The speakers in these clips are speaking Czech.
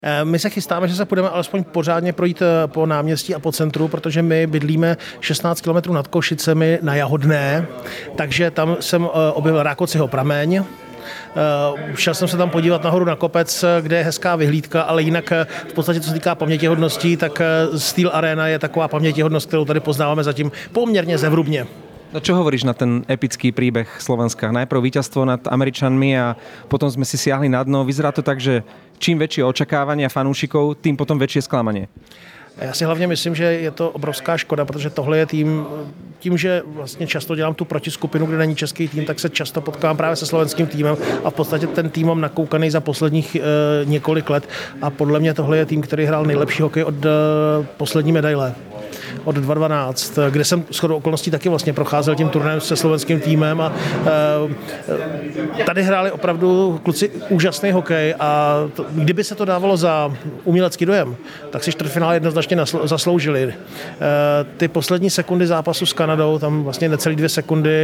My se chystáme, že se půjdeme alespoň pořádně projít po náměstí a po centru, protože my bydlíme 16 km nad Košicemi na Jahodné, takže tam jsem objevil Rákociho prameň. Šel jsem se tam podívat nahoru na kopec, kde je hezká vyhlídka, ale jinak v podstatě, co se týká pamětihodností, tak Steel Arena je taková pamětihodnost, kterou tady poznáváme zatím poměrně zevrubně. No čo hovoríš na ten epický príbeh Slovenska? Najprv víťazstvo nad Američanmi a potom sme si siahli na dno. Vyzerá to tak, že čím väčšie očakávania fanúšikov, tým potom väčšie sklamanie. Já si hlavně myslím, že je to obrovská škoda, protože tohle je tím, že vlastně často dělám tu protiskupinu, kde není český tým, tak se často potkávám právě se slovenským týmem a v podstatě ten tým mám nakoukaný za posledních několik let a podle mě tohle je tým, který hrál nejlepší hokej od poslední medaile. Od 2012, kde jsem shodou okolností taky vlastně procházel tím turnajem se slovenským týmem a tady hráli opravdu kluci úžasný hokej a kdyby se to dávalo za umělecký dojem, tak si čtvrtfinále jednoznačně zasloužili. Ty poslední sekundy zápasu s Kanadou, tam vlastně necelý 2 sekundy,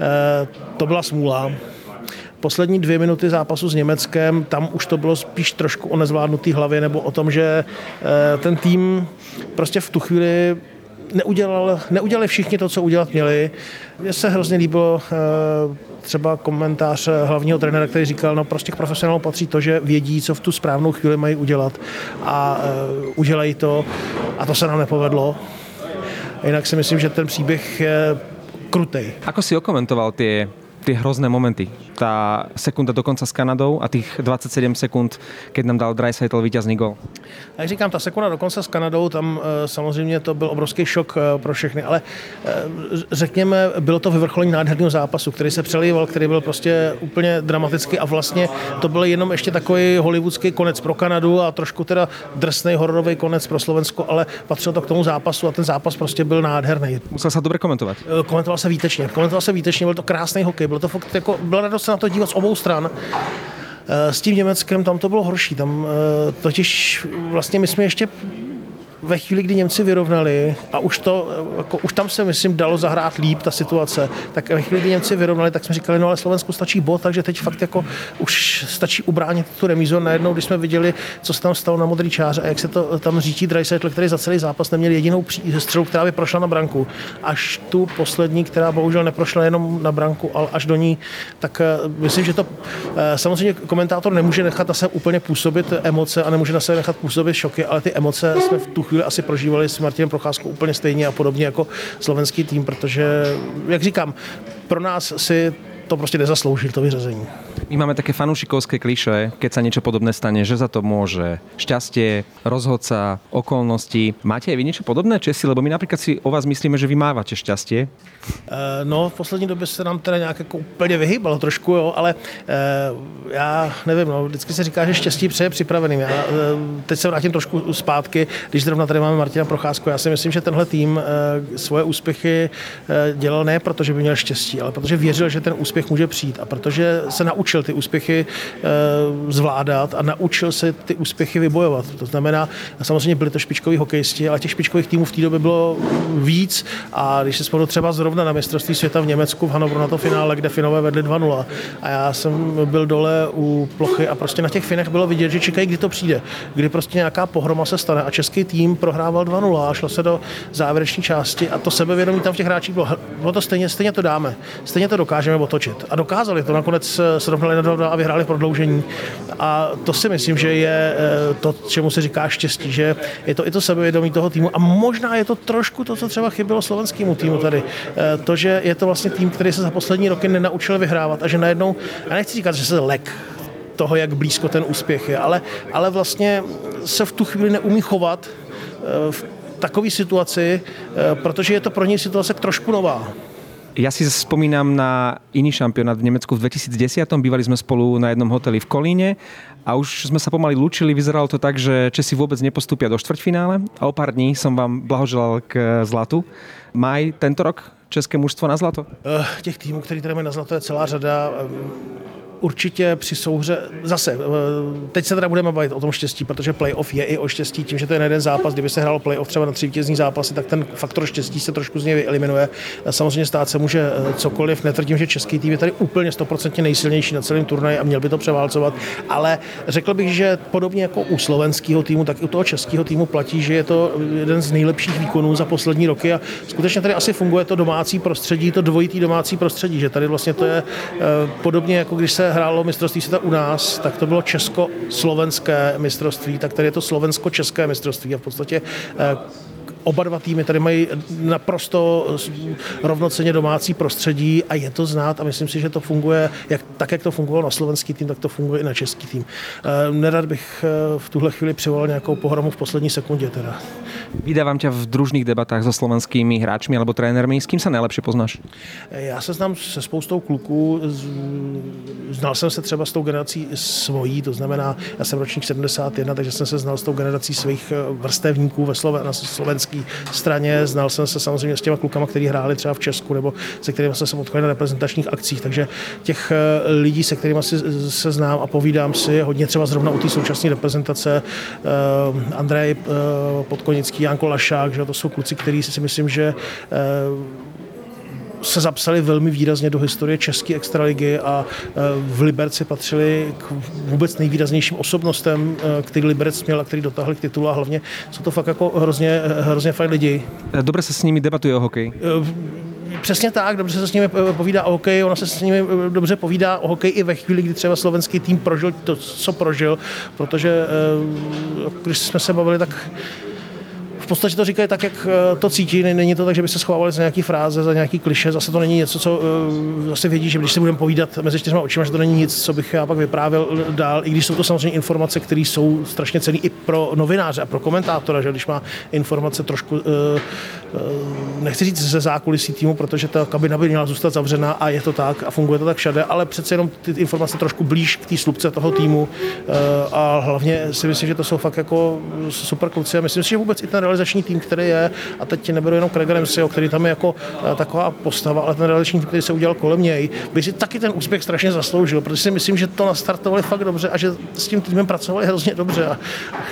to byla smůla. Poslední 2 minuty zápasu s Německem, tam už to bylo spíš trošku o nezvládnutý hlavě nebo o tom, že ten tým prostě v tu chvíli neudělali všichni to, co udělat měli. Mně se hrozně líbilo třeba komentář hlavního trenéra, který říkal, no prostě k profesionálům patří to, že vědí, co v tu správnou chvíli mají udělat a udělají to a to se nám nepovedlo. Jinak si myslím, že ten příběh je krutej. Ako si okomentoval tie hrozné momenty? Tá sekunda dokonca s Kanadou a tých 27 sekund, keď nám dal Draisaitl víťazný gól. Jak říkám, ta sekunda dokonce s Kanadou, tam samozřejmě to byl obrovský šok pro všechny, ale řekněme, bylo to vyvrcholení nádherného zápasu, který se přelíval, který byl prostě úplně dramatický a vlastně to byl jenom ještě takový hollywoodský konec pro Kanadu a trošku teda drsnej hororový konec pro Slovensko, ale patřilo to k tomu zápasu a ten zápas prostě byl nádherný. Musel sa dobre komentovať. Komentoval se výtečně, byl to krásný hokej, bylo to fakt jako, byla radost se na to dívat z obou stran. S tím Německem tam to bylo horší. Tam totiž vlastně my jsme ještě ve chvíli, kdy Němci vyrovnali a už tam se, myslím, dalo zahrát líp ta situace, tak ve chvíli, kdy Němci vyrovnali, tak jsme říkali, no ale Slovensku stačí bod, takže teď fakt jako už stačí ubránit tu remízu. Najednou, když jsme viděli, co se tam stalo na modrý čáře a jak se to tam řítí Draisaitl, který za celý zápas neměl jedinou střelu, která by prošla na branku. Až tu poslední, která bohužel neprošla jenom na branku, ale až do ní, tak myslím, že to samozřejmě komentátor nemůže nechat na sebe úplně působit emoce a nemůže na sebe nechat působit šoky, ale ty emoce jsme v tu chvíli asi prožívali s Martinem Procházkou úplně stejně a podobně jako slovenský tým, protože, jak říkám, pro nás si to prostě nezasloužil, to vyřazení. My máme také fanúšikovské klišé, keď sa niečo podobné stane, že za to môže šťastie, rozhodca, okolnosti. Máte aj vy niečo podobné, Česi? Lebo my napríklad si o vás myslíme, že vy mávate šťastie. No, v poslední době se nám teda nějak jako úplně vyhýbalo trošku, jo, ale já nevím, no, vždycky se říká, že štěstí přeje připraveným. Já teď se vrátím trošku zpátky, když zrovna tady máme Martina Procházku. Já si myslím, že tenhle tým svoje úspěchy dělal ne proto, že by měl štěstí, ale protože věřil, že ten úspěch může přijít a protože se naučil ty úspěchy zvládat a naučil se ty úspěchy vybojovat. To znamená, samozřejmě byli to špičkoví hokejisti, ale těch špičkových týmů v té době bylo víc a když se spolu třeba zrovna na mistrovství světa v Německu v Hannoveru na to finále, kde Finové vedli 2-0 a já jsem byl dole u plochy a prostě na těch Finech bylo vidět, že čekají, kdy to přijde, kdy prostě nějaká pohroma se stane a český tým prohrával 2-0 a šlo se do závěrečné části a to sebevědomí tam v těch hráčích bylo to stejně to dáme, stejně to dokážeme otočit a dokázali to, nakonec srovnali na 2 a vyhráli v prodloužení a to si myslím, že je to, čemu se říká štěstí, že je to i to sebevědomí toho týmu a možná je to trošku to, co třeba chybělo slovenskému týmu tady. To, že je to vlastně tým, který se za poslední roky nenaučil vyhrávat a že najednou, já nechci říkat, že se lek toho, jak blízko ten úspěch je, ale vlastně se v tu chvíli neumí chovat v takové situaci, protože je to pro něj situace trošku nová. Ja si spomínam na iný šampionát v Nemecku v 2010. Bývali sme spolu na jednom hoteli v Kolíne a už sme sa pomaly lúčili. Vyzeralo to tak, že Česi vôbec nepostúpia do štvrťfinále a o pár dní som vám blahoželal k zlatu. Má aj tento rok české mužstvo na zlato? Těch týmů, který tady mají na zlato, je celá řada. určitě při souhře, zase, teď se teda budeme bavit o tom štěstí, protože playoff je i o štěstí, tím, že to je jeden zápas, kdyby se hrálo playoff třeba na 3 vítězný zápasy, tak ten faktor štěstí se trošku z něj vyeliminuje. Samozřejmě stát se může cokoliv, netvrdím, že český tým je tady úplně 100% nejsilnější na celém turnaji a měl by to převálcovat, ale řekl bych, že podobně jako u slovenského týmu, tak i u toho českého týmu platí, že je to jeden z nejlepších výkonů za poslední roky a skutečně tady asi funguje to domácí prostředí, to dvojitý domácí prostředí, že tady vlastně to je podobně jako když se hrálo mistrovství světa u nás, tak to bylo česko-slovenské mistrovství, tak tady je to slovensko-české mistrovství a v podstatě oba dva týmy tady mají naprosto rovnocenně domácí prostředí a je to znát a myslím si, že to funguje jak to fungovalo na slovenský tým, tak to funguje i na český tým. Nerad bych v tuhle chvíli přivolal nějakou pohromu v poslední sekundě teda. Vydávam ťa v družných debatách so slovenskými hráčmi alebo trénermi. S kým sa najlepšie poznáš? Já se znám se spoustou kluků. Znal jsem se třeba s tou generací svojí, to znamená, já jsem ročník 71, takže jsem se znal s tou generací svých vrstevníků na slovenské straně. Znal jsem se samozřejmě s těma klukama, kteří hráli třeba v Česku nebo se kterými jsem se potkal na reprezentačních akcích, takže těch lidí, se kterými se znám a povídám si, hodně třeba zrovna u té současné reprezentace, Andrej Podkonický, Janko Lašák, že to jsou kluci, kteří si myslím, že se zapsali velmi výrazně do historie české extraligy a v Liberci patřili k vůbec nejvýraznějším osobnostem, který Liberec měl a který dotáhli k titulu a hlavně jsou to fakt jako hrozně fajn lidi. Dobre se s nimi debatuje o hokeji. Přesně tak, dobře se s nimi povídá o hokeji, ona se s nimi dobře povídá o hokeji i ve chvíli, kdy třeba slovenský tým prožil to, co prožil, protože když jsme se bavili, tak v podstatě to říkají tak, jak to cítí. Není to tak, že by se schovávali za nějaký fráze, za nějaký kliše. Zase to není něco, co zase vědí, že když se budeme povídat mezi 4 očima, že to není nic, co bych já pak vyprávěl dál. I když jsou to samozřejmě informace, které jsou strašně cenné i pro novináře a pro komentátora, že když má informace trošku, nechci říct ze zákulisí týmu, protože ta kabina by měla zůstat zavřená a je to tak a funguje to tak všade, ale přece jenom ty informace trošku blíž k té slupce toho týmu a hlavně si myslím, že to jsou fakt jako super kluci a myslím si, že vůbec i ten realizační tým, který je, a teď neberu jenom Craiga Ramseyho, který tam je jako taková postava, ale ten realizační tým, který se udělal kolem něj, by si taky ten úspěch strašně zasloužil, protože si myslím, že to nastartovali fakt dobře a že s tím týmem pracovali hrozně dobře. A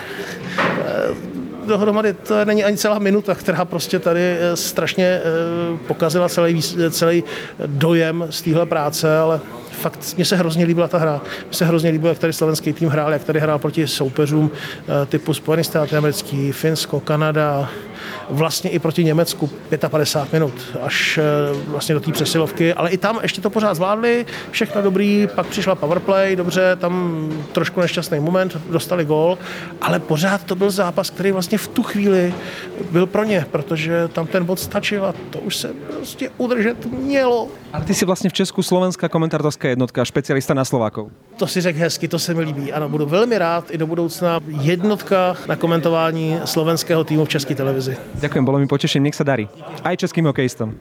dohromady to není ani celá minuta, která prostě tady strašně pokazila celý dojem z téhle práce, ale fakt mně se hrozně líbila ta hra. Mně se hrozně líbilo, jak tady slovenský tým hrál, jak tady hrál proti soupeřům typu Spojené státy americký, Finsko, Kanada, vlastně i proti Německu 55 minut, až vlastně do té přesilovky, ale i tam ještě to pořád zvládli, všechno dobrý, pak přišla powerplay, dobře, tam trošku nešťastný moment, dostali gól, ale pořád to byl zápas, který vlastně v tu chvíli byl pro ně, protože tam ten bod stačil a to už se prostě udržet mělo. Ale ty si vlastně v Česku slovenská komentátorská jednotka, špecialista na Slovákov. To si řekl hezky, to se mi líbí. Ano, budu velmi rád i do budoucna jednotka na komentování slovenského týmu v české televizi. Ďakujem, bolo mi potešením, nech sa darí. Aj českým hokejistom.